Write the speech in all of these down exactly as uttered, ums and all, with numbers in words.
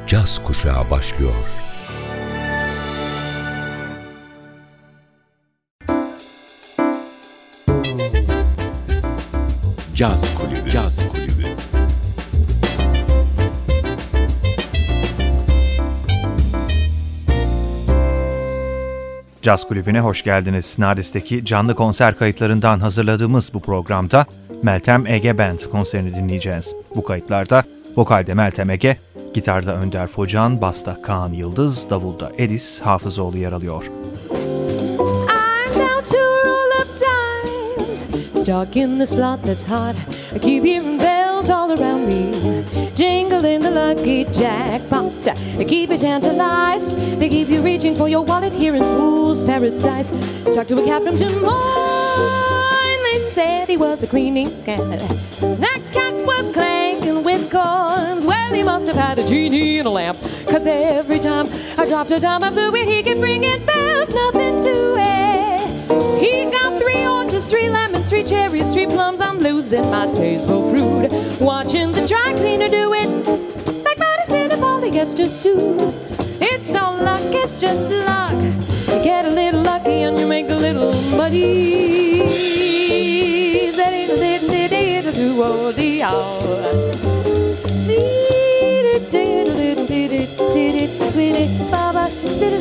caz kuşağı başlıyor. Caz Kulübü. Caz Kulübü. Caz Kulübü'ne hoş geldiniz. Nardis'teki canlı konser kayıtlarından hazırladığımız bu programda Meltem Ege Band konserini dinleyeceğiz. Bu kayıtlarda vokalde Meltem Ege, gitarda Önder Focan, basta Kaan Yıldız, davulda Edis Hafızoğlu yer alıyor. I'm down to roll up times, stuck in the slot that's hot. I keep hearing bells all around me, jingling the lucky jackpot. They keep you tantalized, they keep you reaching for your wallet here in Fool's Paradise. Talked to a cat from Des Moines, they said he was a cleaning cat. That cat was clanking with coins, well he must have had a genie in a lamp, cause every time I dropped a dime I blew it, he could bring in bells, nothing to it. He got three oranges, three lemons, three cherries, three plums. I'm losing my taste for fruit, watching the dry cleaner do it like medicine and polyester suit. It's all luck, it's just luck. You get a little lucky and you make a little money. Sweetie Baba,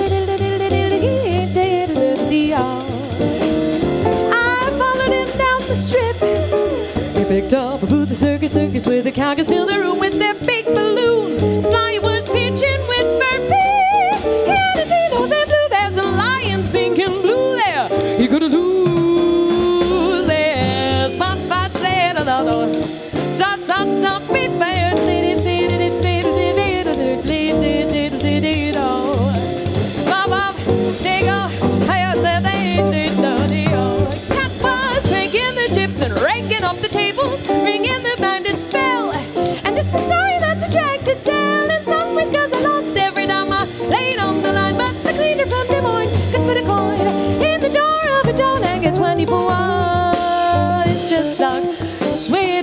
I followed him down the strip. He picked up a booth, the circus, circus, where the cowgirls fill the room with their big balloons. The fireworks pitching with burpees. He had a Tito's and blue bears and lions, pink and blue there. You couldn't lose there. Spot, spot, said another. Stop, stop, stop, be fair. Lady, said it, it, it, it, it, it, it, it, it, it, oh. Swap up, say go, higher than they did, oh. Cat was cranking the chips and raking up the tables, ringing the bandit's bell. And this is a story that's a drag to tell. In some ways, cause I lost every time I laid on the line. But the cleaner from Des Moines could put a coin in the door of a John and get twenty for one. It's just luck. Sweet.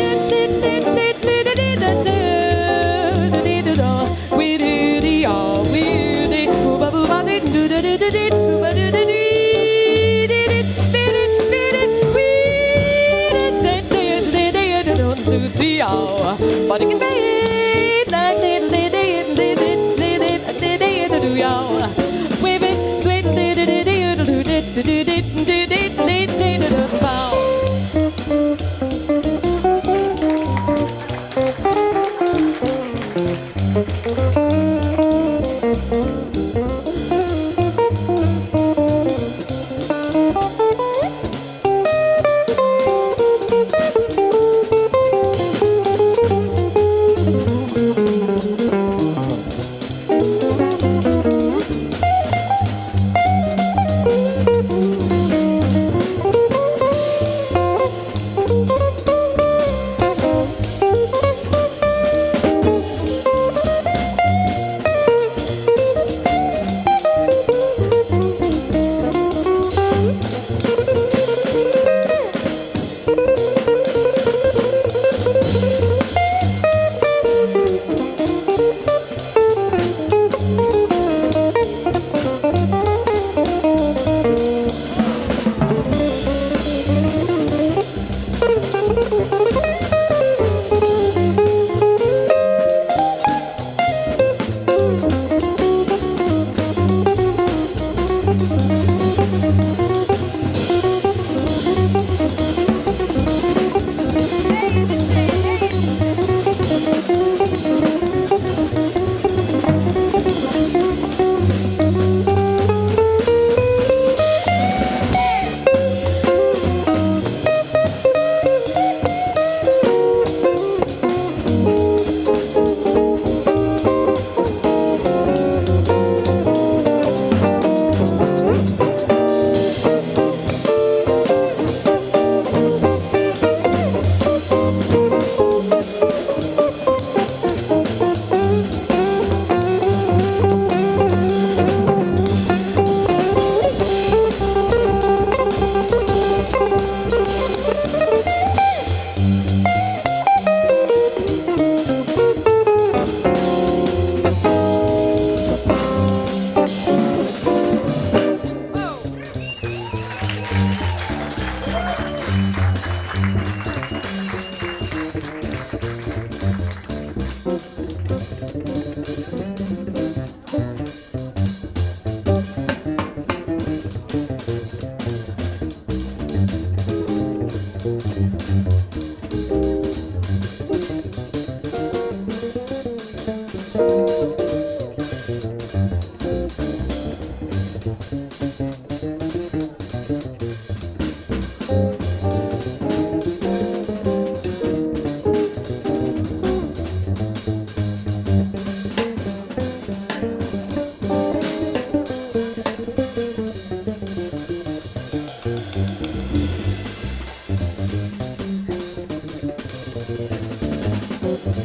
But it can be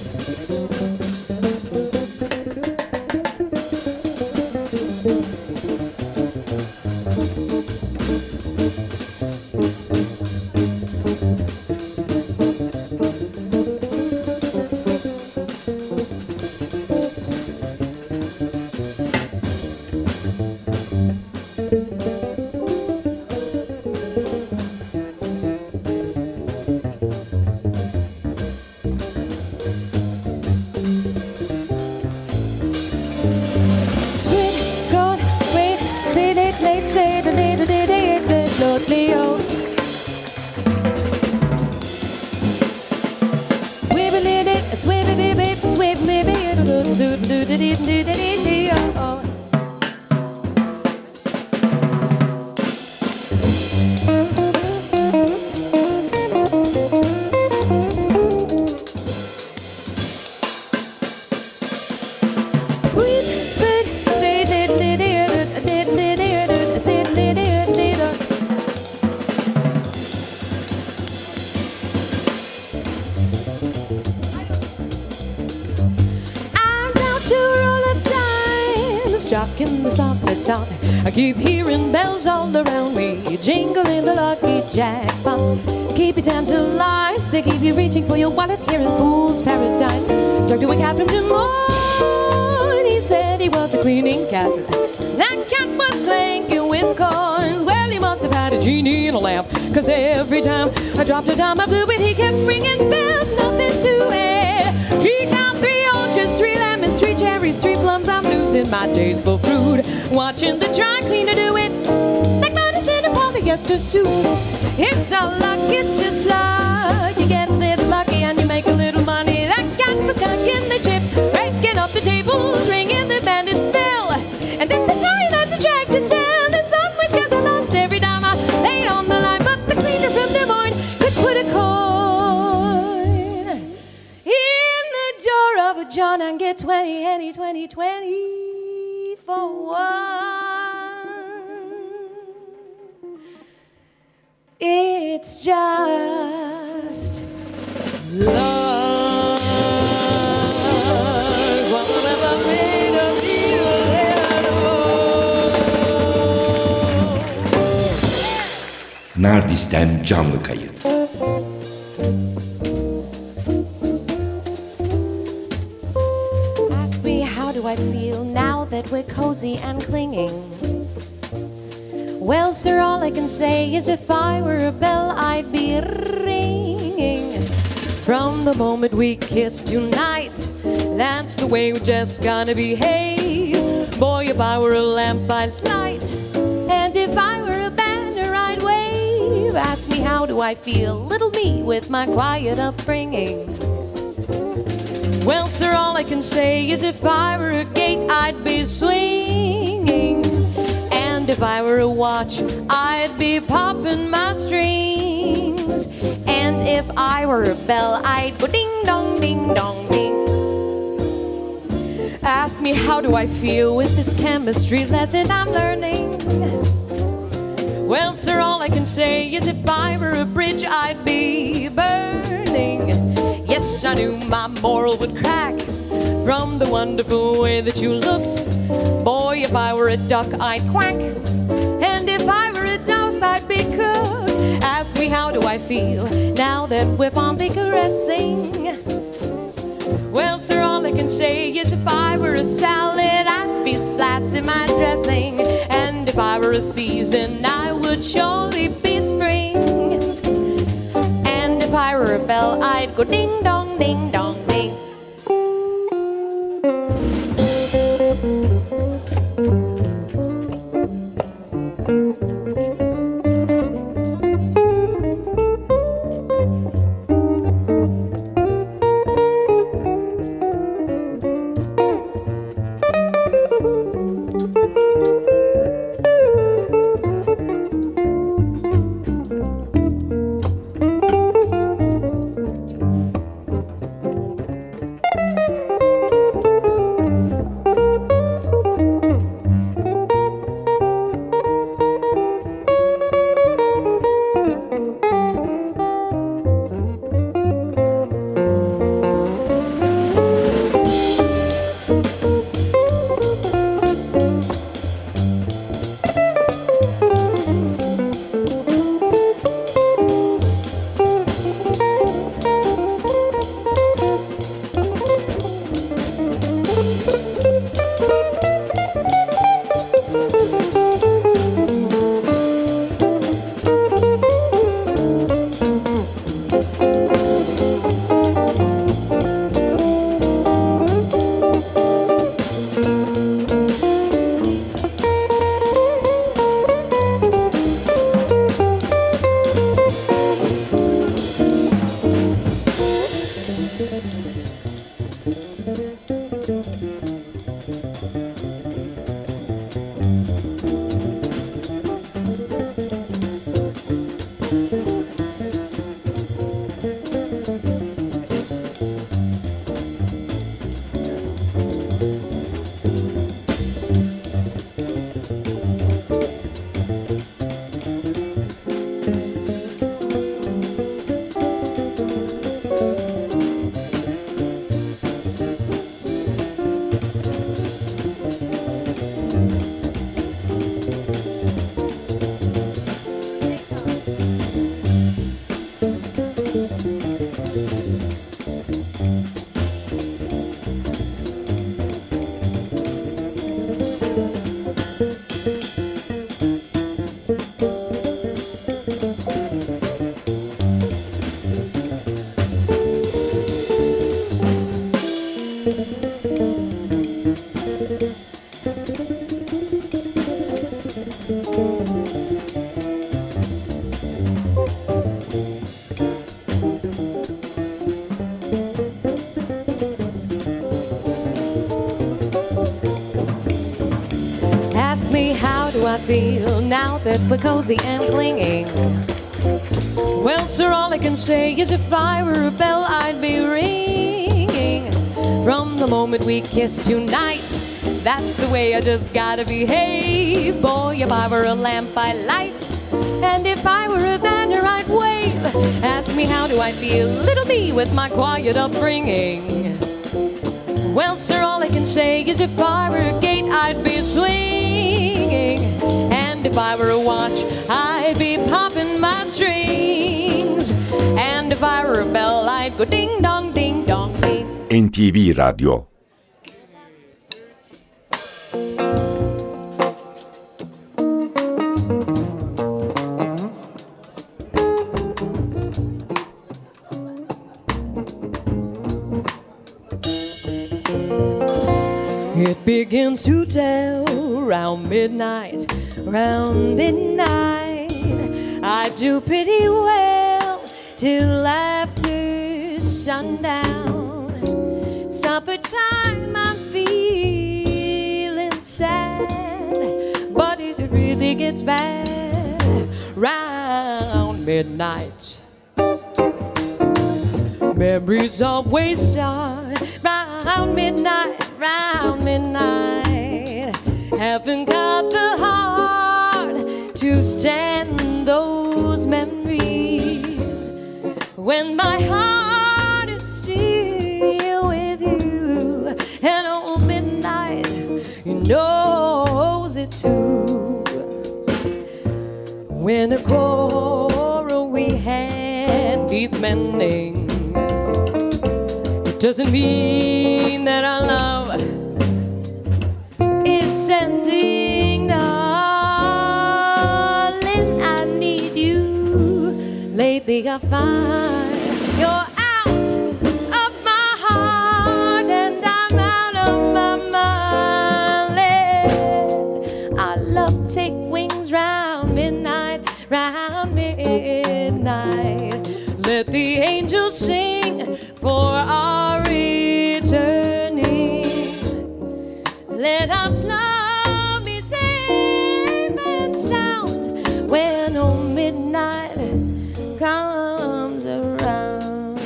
Rocking the song that's on. I keep hearing bells all around me, jingling the lucky jackpot. Keep you tantalized to keep you reaching for your wallet here in Fool's Paradise. Talked to a cat from Des Moines. He said he was a cleaning cat. That cat was clanking with coins. Well, he must have had a genie in a lamp, 'cause every time I dropped a dime I blew it, he kept ringing bells, nothing to it. He got three oranges, three lemons, three cherries, three plums. I'm losing my days for fruit, watching the dry cleaner do it like medicine in a polyester suit. It's all luck, it's just luck. You get a little lucky and you make a little money. That cat was clanking the chips, breaking up the tables, ringing the bandit's bell. And this is how you learn to track to tell. In some ways, 'cause I lost every dime I laid on the line, but the cleaner from Des Moines could put a coin in the door of a John and get twenty, any, twenty, twenty for one. It's just love. Whatever made of you. Nardis'ten canlı kayıt. Ask me how do I feel now that we're cozy and clinging. Well, sir, all I can say is if I were a bell, I'd be ringing. From the moment we kissed tonight, that's the way we're just gonna behave. Boy, if I were a lamp, I'd light. And if I were a banner, I'd wave. Ask me how do I feel, little me with my quiet upbringing. Well, sir, all I can say is if I were a gate, I'd be swinging. And if I were a watch, I'd be popping my strings. And if I were a bell, I'd go ding dong, ding dong, ding. Ask me how do I feel with this chemistry lesson I'm learning. Well, sir, all I can say is if I were a bridge, I'd be burning. Yes, I knew my moral would crack from the wonderful way that you looked. Boy, if I were a duck, I'd quack. And if I were a dose, I'd be cooked. Ask me how do I feel now that we're fondly caressing. Well, sir, all I can say is if I were a salad, I'd be splashing my dressing. And if I were a season, I would surely be spring. And if I were a bell, I'd go ding dong, ding dong, ding. Ask me how do I feel now that we're cozy and clinging. Well, sir, all I can say is if I were a bell, I'd be ringing. From the moment we kissed tonight, that's the way I just gotta behave. Boy, if I were a lamp, I'd light, and if I were a banner, I'd wave. Ask me how do I feel, little me with my quiet upbringing. Well, sir, all I can say is if I were a gate, I'd be swinging. And if I were a watch, I'd be popping my strings. And if I were a bell, I'd go ding dong, ding dong, ding. N T V Radyo. It begins to tell round midnight, round midnight. I do pretty well till after sundown. Supper time, I'm feeling sad, but it really gets bad round midnight. Memories always start round midnight, round midnight. Haven't got the heart to stand those memories when my heart is still with you. And on midnight, you knows it too. When a quarrel we had needs mending, doesn't mean that our love is ending, darling. I need you. Lately I find you're out of my heart and I'm out of my mind. Let our love take wings round midnight, round midnight. Let the angels sing for our returning. Let our love be safe and sound when on midnight comes around.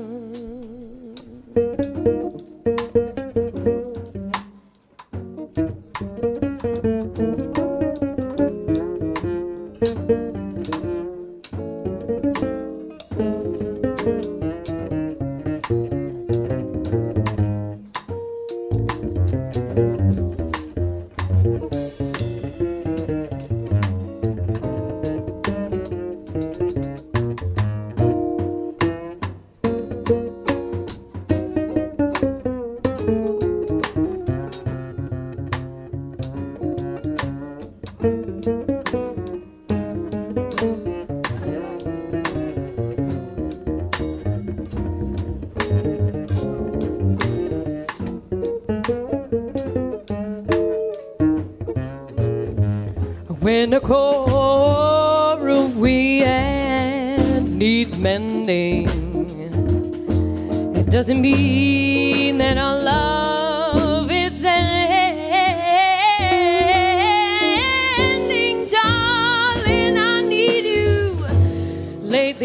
When a quarrel we had needs mending, it doesn't mean that our love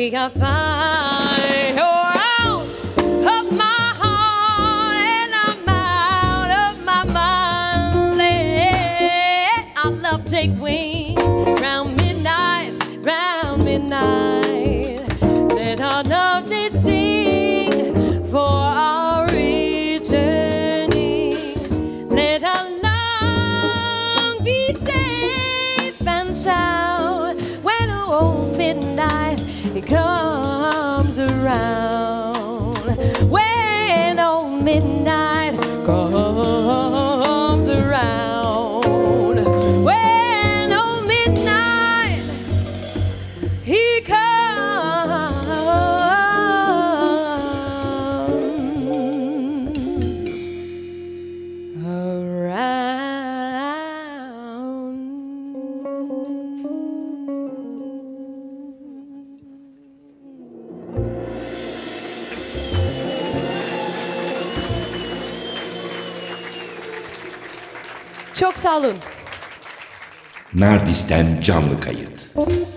I find you're out of my heart and I'm out of my mind. Let our love take wings round midnight, round midnight. Let our love they sing for our returning. Let our love be safe and sound when old midnight it comes around. When old midnight comes around. When old midnight he comes Çok sağ olun. Nardis'ten canlı kayıt.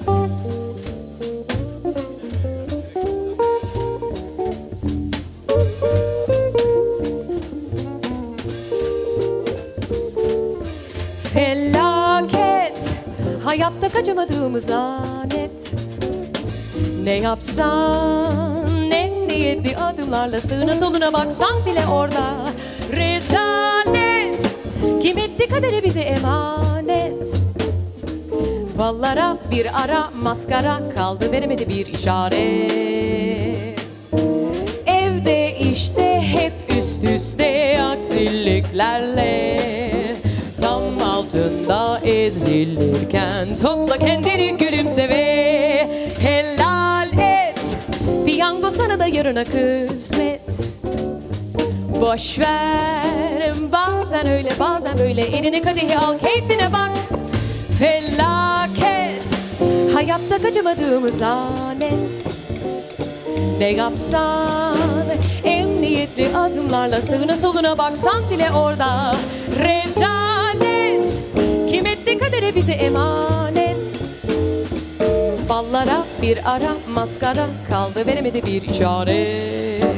Felaket, hayatta kaçamadığımız lanet. Ne yapsan, ne niyetli adımlarla sığına soluna baksan bile orada. Rezalet, kim etti kaderi bize emanet. Fallara bir ara maskara kaldı, veremedi bir işaret. Evde işte hep üst üste aksiliklerle, tam altında ezilirken topla kendini gülümse ve helal et. Piyango sana da yarına kısmet. Boş ver, bazen öyle bazen böyle, elini kadehi al keyfine bak. Felaket, hayatta kaçamadığımız lanet. Ne yapsan, emniyetli adımlarla sığına soluna baksan bile orada. Rezalet, kim etti kadere bize emanet. Fallara bir ara maskara kaldı, veremedi bir işaret.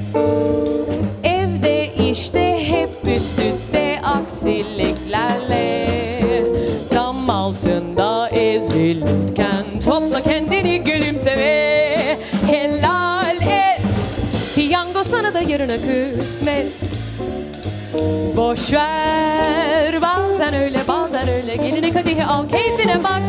Evde işte hep üst üste aksiliklerle, tam altında ezilirken topla kendini gülümse ve helal et. Piyango sana da yarına kısmet. Boş ver, bazen öyle bazen öyle, gelini kadehi al keyfine bak.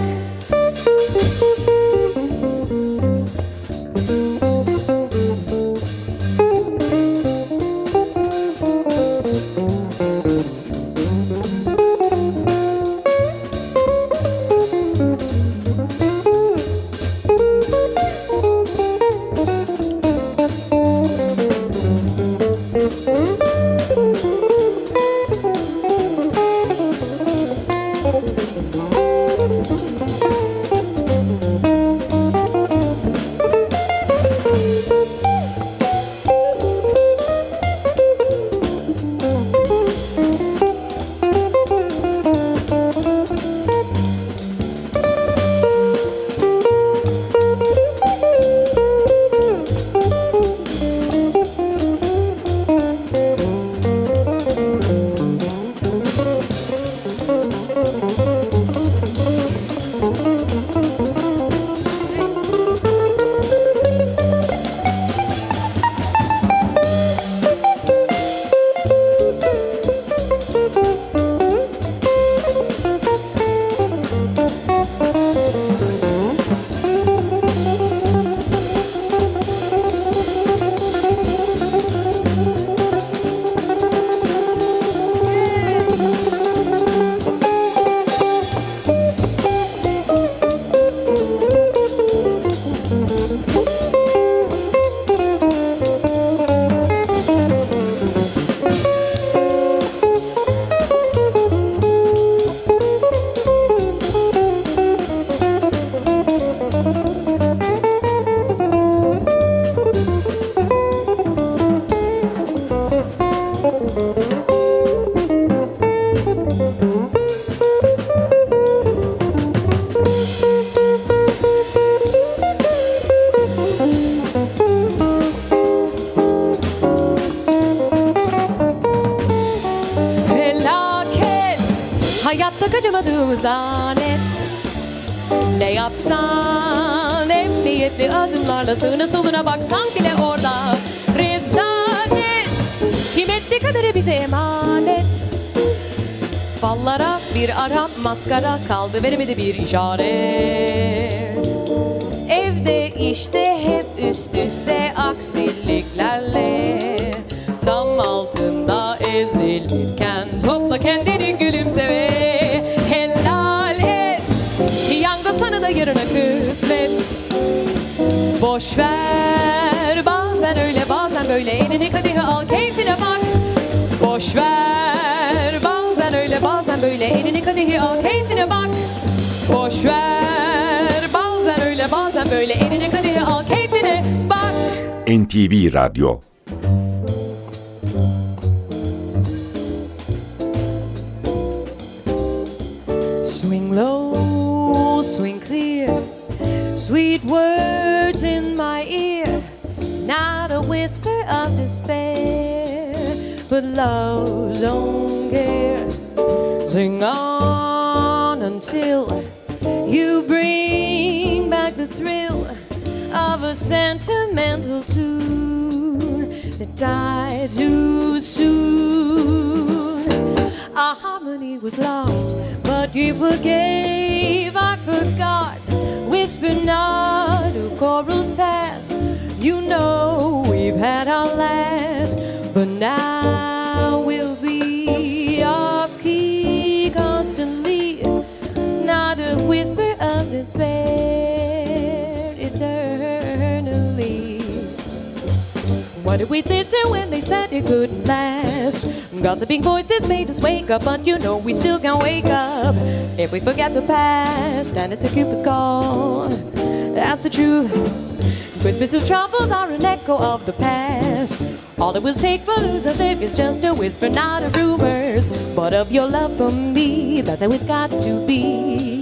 da kaçamadığımız lanet. Ne yapsan emniyetli adımlarla sağına soluna baksan bile orada rezalet. Kim etti kaderi bize emanet. Fallara bir ara maskara kaldı, veremedi bir işaret. Evde işte hep üst üste aksiliklerle, tam altında ezilirken topla kendini gülümse ve helal et. Piyango sana da yarına kısmet. Boş ver, bazen öyle bazen böyle, elini kadehi al keyfine bak. Boş ver, bazen öyle bazen böyle, elini kadehi al keyfine bak. Boş ver, bazen öyle bazen böyle, elini kadehi al keyfine bak. N T V Radyo. Swing low, swing clear, sweet words in my ear, not a whisper of despair, but love's own care. Sing on until you bring back the thrill of a sentimental tune that died too soon. Our harmony was lost, but you forgave, I forgot. Whisper not of corals past. You know we've had our last, but now we'll be off key constantly. Not a whisper of despair eternally. Why did we listen when they said it couldn't last? Gossiping voices made us wake up, but you know we still can't wake up if we forget the past. And it's a Cupid's call, that's the truth. Whispers of troubles are an echo of the past. All it will take for losers is just a whisper, not of rumors, but of your love for me. That's how it's got to be.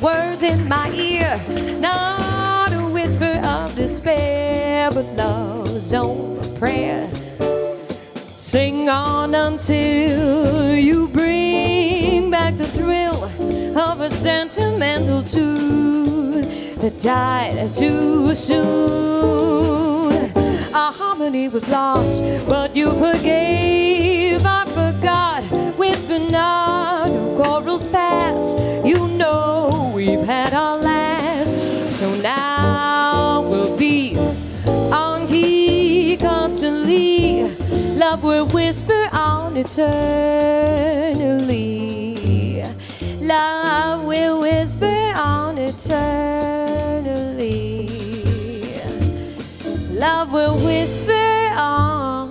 words in my ear, not a whisper of despair, but love's own prayer. Sing on until you bring back the thrill of a sentimental tune that died too soon. Our harmony was lost, but you forgave. I forgot. Whisper not, no quarrels past. You know we've had our last, so now we'll be on key constantly. Love will whisper on eternally. Love will whisper on eternally. Love will whisper on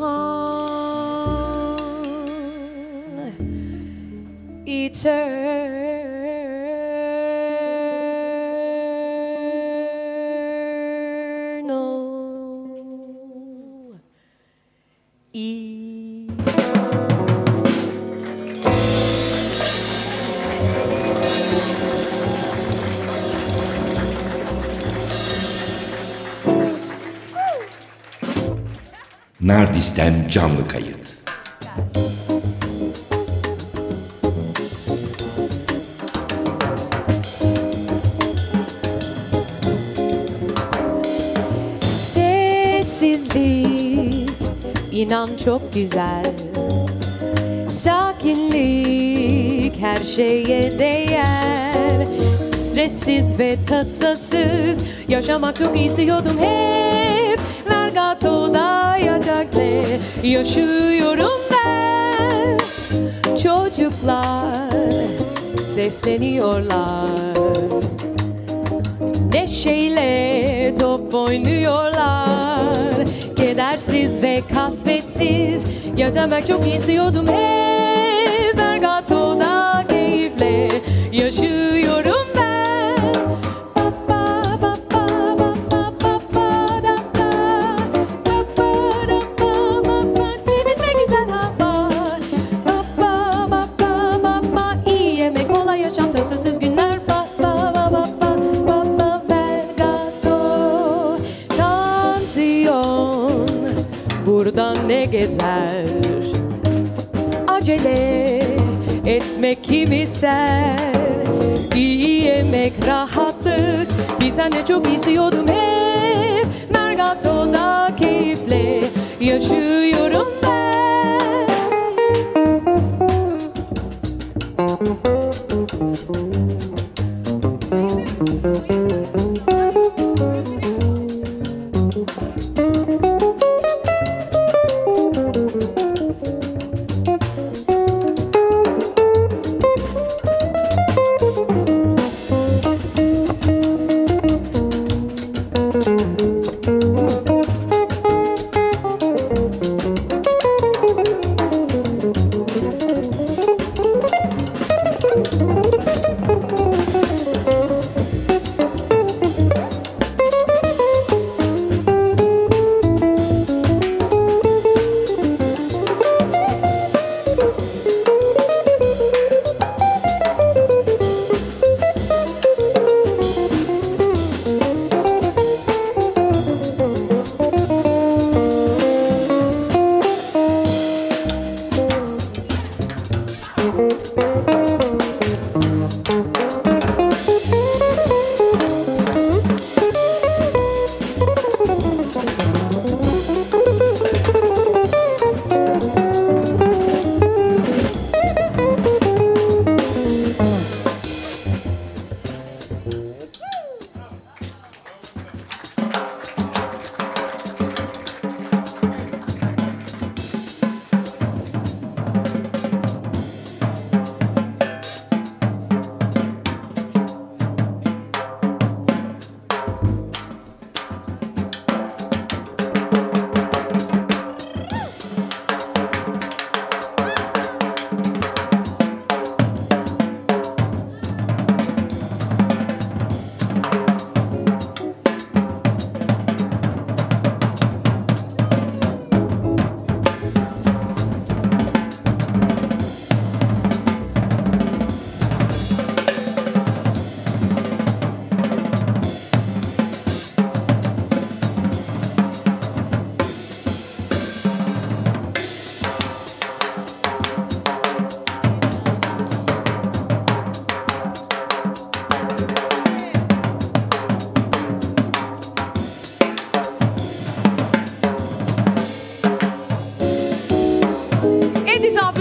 eternally. Nardis'ten canlı kayıt. Sessizlik, inan çok güzel. Sakinlik her şeye değer. Stressiz ve tasasız yaşamak çok istiyordum hep. Vergato'da yatakle yaşıyorum ben. Çocuklar sesleniyorlar, neşeyle top oynuyorlar. Kedersiz ve kasvetsiz yaşamak çok istiyordum hep. Vergato'da keyifle yaşıyorum ben. Tasasız günler, ba ba ba ba ba ba ba Vergato. Tansiyon burada ne gezer? Acele etmek kim ister? İyi yemek, rahatlık, bir sene çok istiyordum hep. Vergato'da keyifle yaşıyorum ben.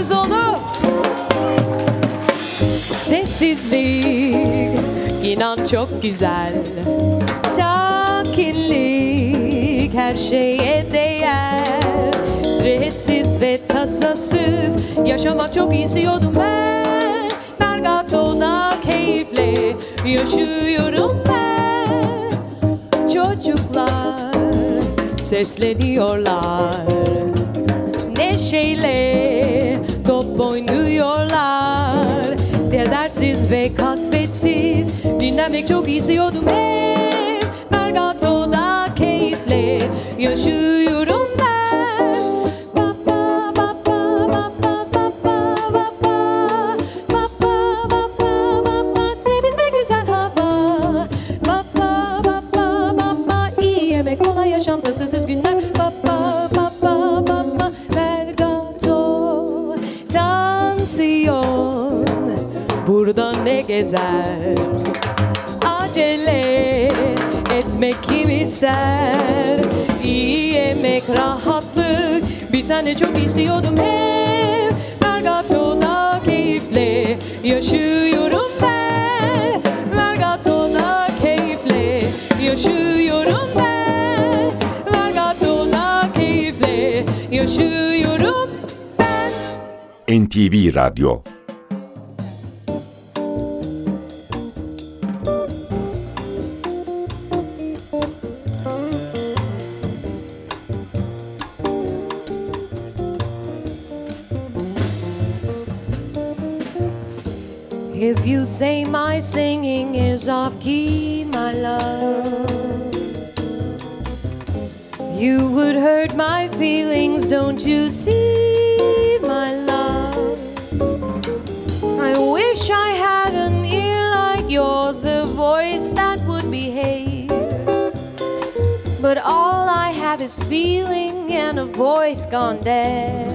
alkışlarınız oldu. Sessizlik, inan çok güzel. Sakinlik, her şeye değer. Stressiz ve tasasız yaşamak çok istiyordum ben. Mergato'da keyifle yaşıyorum ben. Çocuklar sesleniyorlar, neşeyle top oynuyorlar. Kedersiz ve kasvetsiz dinlemek çok istiyordum hep. Mergato'da keyifle yaşıyorum ben. Ba ba ba ba ba ba ba ba ba ba ba ba ba ba. Temiz ve güzel hava. Ba ba ba ba ba ba. İyi yemek, kolay yaşam, tasasız günler. Ba ba ba ba ba ba. Mergato tansiyon burada ne gezer? Acele etmek kim ister? İyi yemek, rahatlık, bir sene çok istiyordum hep. Mergato'da keyifle yaşıyorum ben. Mergato'da keyifle yaşıyorum ben. Mergato'da keyifle yaşıyorum ben. N T V Radyo. If you say my singing is off key, my love, you would hurt my feelings, don't you see, my love? I wish I had an ear like yours, a voice that would behave. But all I have is feeling and a voice gone deaf.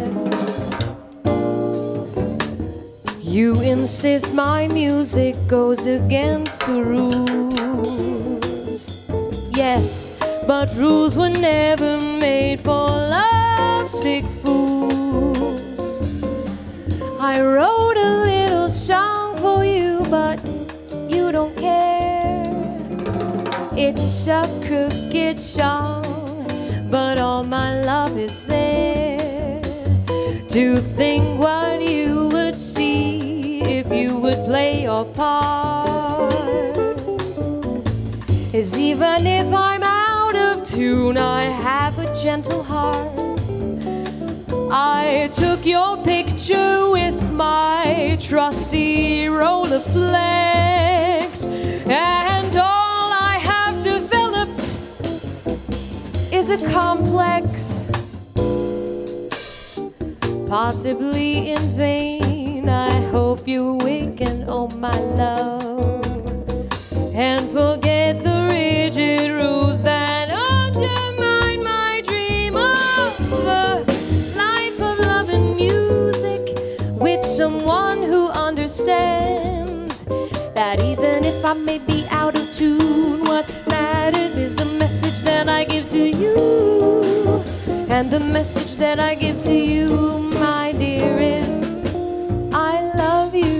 You insist my music goes against the rules. Yes, but rules were never made for lovesick fools. I wrote a little song for you, but you don't care. It's a crooked song, but all my love is there. To think what you would see if you would play your part is, even if I'm out of tune, I have a gentle heart. I took your picture with my trusty Rolleiflex, and all I have developed is a complex, possibly in vain. I hope you awaken, oh my love, and forget the rigid rules that undermine my dream of a life of love and music with someone who understands that even if I may be out of tune, what matters is the message that I give to you. And the message that I give to you, my dear, is I love you.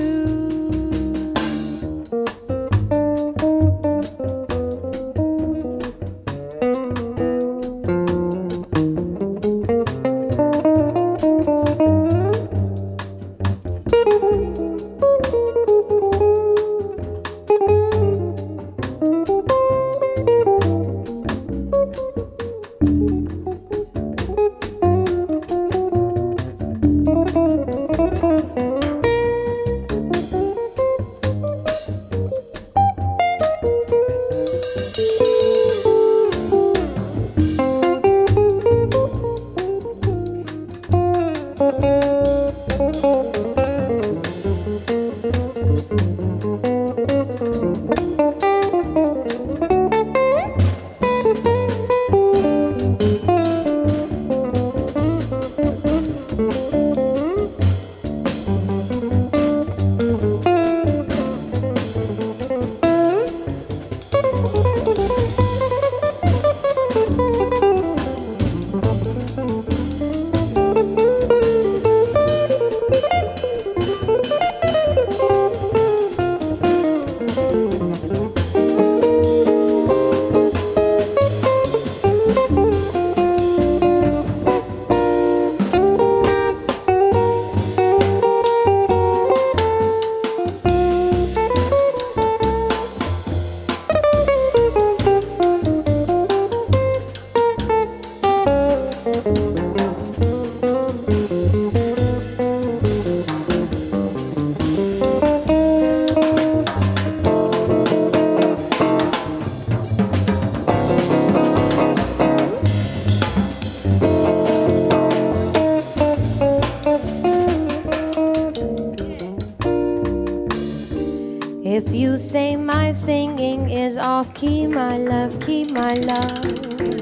my singing is off key, my love, key, my love.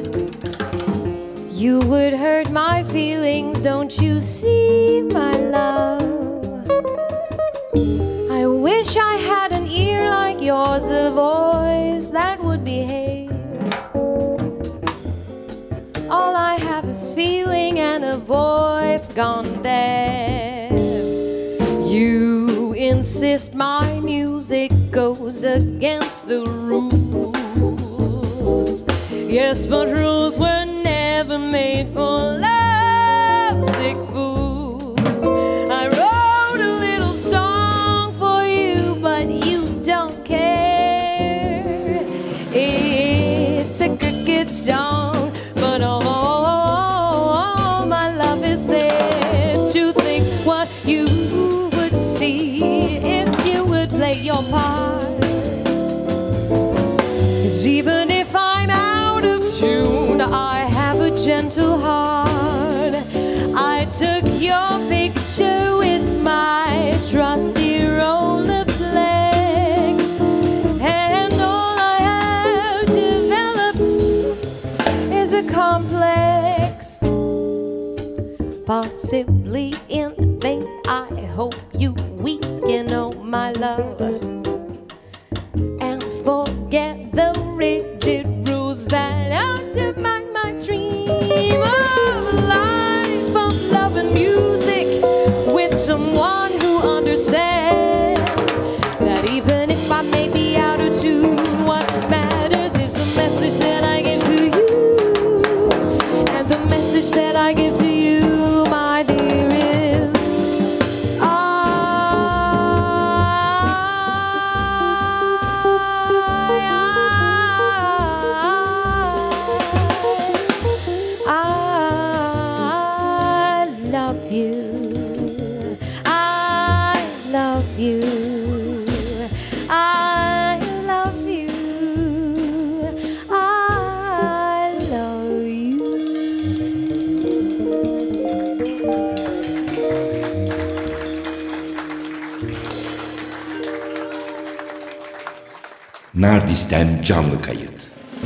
You would hurt my feelings, don't you see, my love? I wish I had an ear like yours, a voice that would behave. All I have is feeling and a voice gone deaf. You insist my music goes against the rules. Yes, but rules were never made for lovesick fools. I wrote a little song for you, but you don't care. It's a cricket song, but all, all, all my love is there to think what you would see if you would play your part. 'Cause even if I'm out of tune, I have a gentle heart. I took your picture with my trusty Rolleiflex, and all I have developed is a complex. Possibly in vain, I hope you weaken, oh my love, and forget the rigid rules that undermine my dream of a life of love and music with someone who understands that even if I may be out of tune, what matters is the message that I give to you, and the message that I give to you, my dear, is I, I, I love you. I love you. I love you. I love you. Nardis'ten canlı kayıt.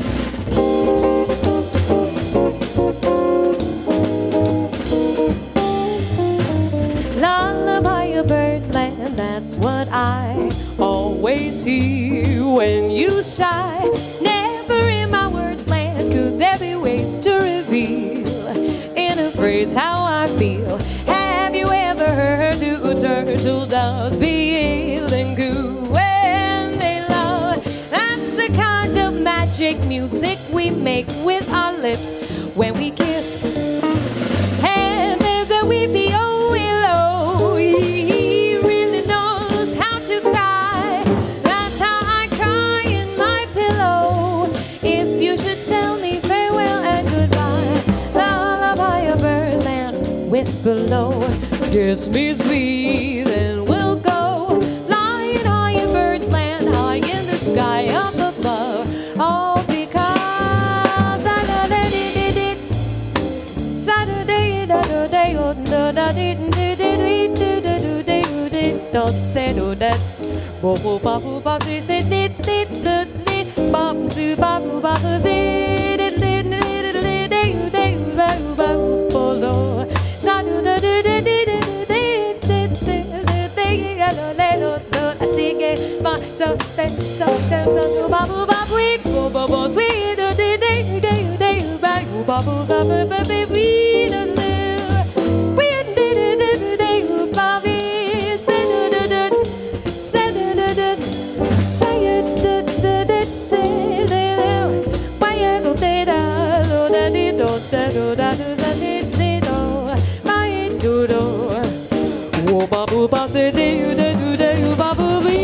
Lullaby of birdland, that's what I always hear when you sigh. Never in my wordland could there be ways to reveal in a phrase how I feel. Have you ever heard two turtle doves being coo when they love? That's the kind of magic music we make with our lips when we kiss. And there's a weepy old willow, he really knows how to cry. That's how I cry in my pillow if you should tell me farewell and goodbye. Lullaby of birdland, whisper low, kiss me sweet, and we'll go flying high in birdland, high in the sky up above. All because Saturday did it, did Saturday da da day oh da da did did did did did did did don't say do that. Bo bo ba bo ba say say did did did did ba to ba bo ba say did did did did did did ba ba bo lo. Saturday did did did did did say did did hello hello I sing it ba so so so so so ba bo ba we bo bo bo sweet did did did did ba ba bo ba ba ba we did we did did did ba we say did did say did did say it did say it say it why you go did da da did do da do da do sa say did do why do do wo ba bu ba say did do do do ba bu we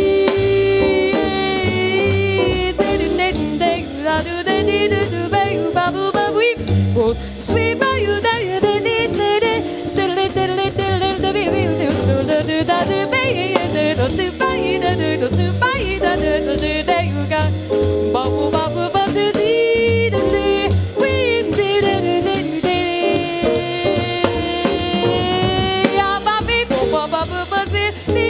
say did did did da do da did do ba ba bu ba we sweet ba you da you did did did say did did did did the baby so da do da do ba do so ba da do so ba da do do da you got ba bu ba bu ba say did did we did did did ya ba ba bu ba ba bu ba say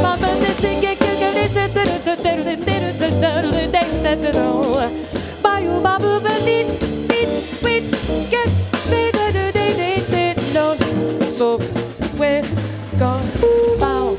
So we're gone bow.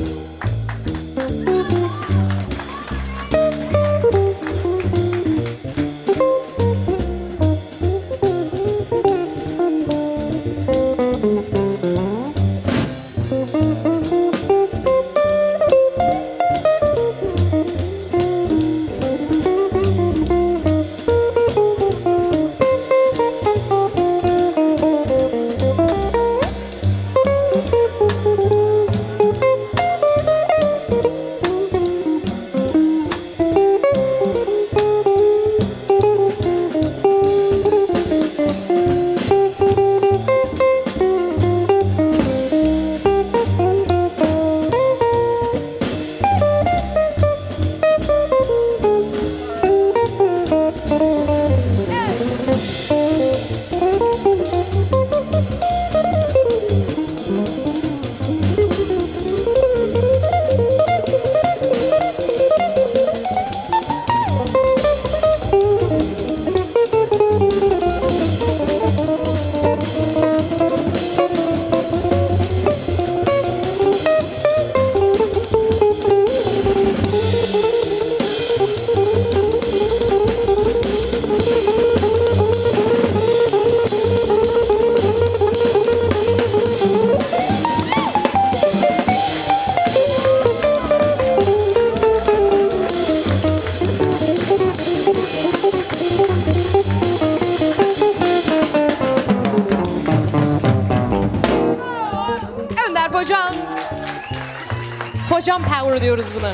Focan. Focan Power diyoruz buna.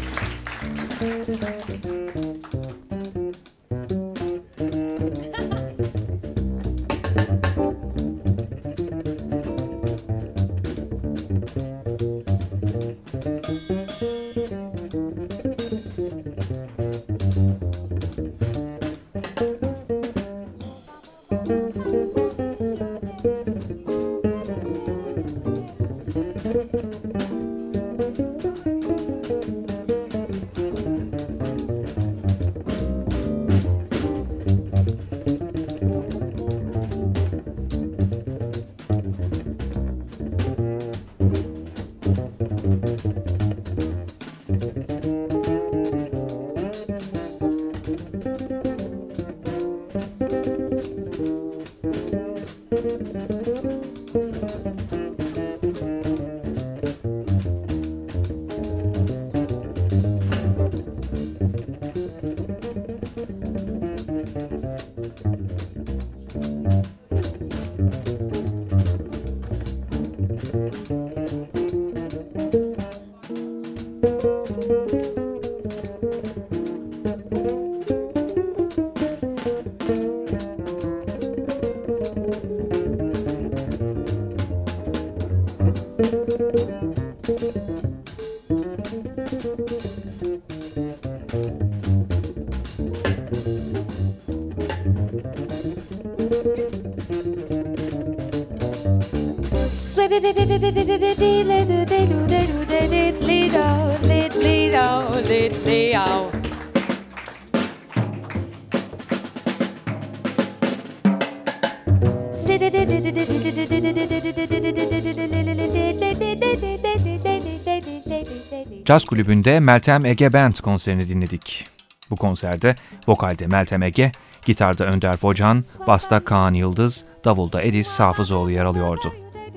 Caz Kulübü'nde Meltem Ege Band konserini dinledik. Bu konserde vokalde Meltem Ege, gitarda Önder Focan, basta Kaan Yıldız, davulda Edis Hafızoğlu yer alıyordu.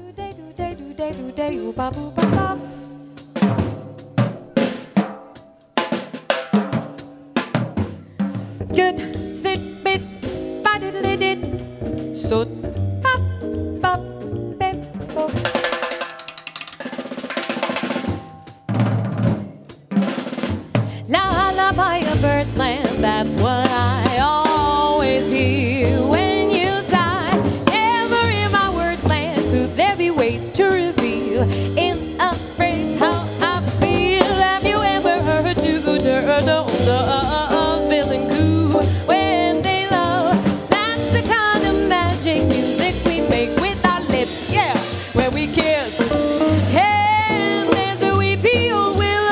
Lullaby of Birdland, that's what I always hear when you sigh. Never in my wordland could there be ways to reveal in a phrase how I feel. Have you ever heard two good turtles feeling cool when they love? That's the kind of magic music we make with our lips, yeah, when we kiss. And there's a weepy old willow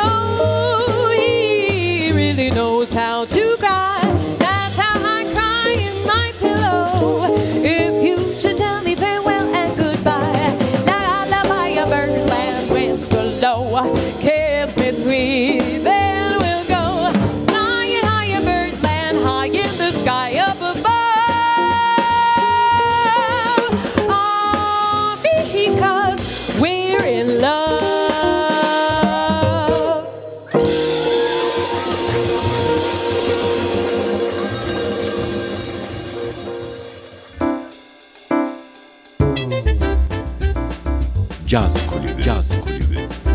Caz Kulübü. Caz Kulübü.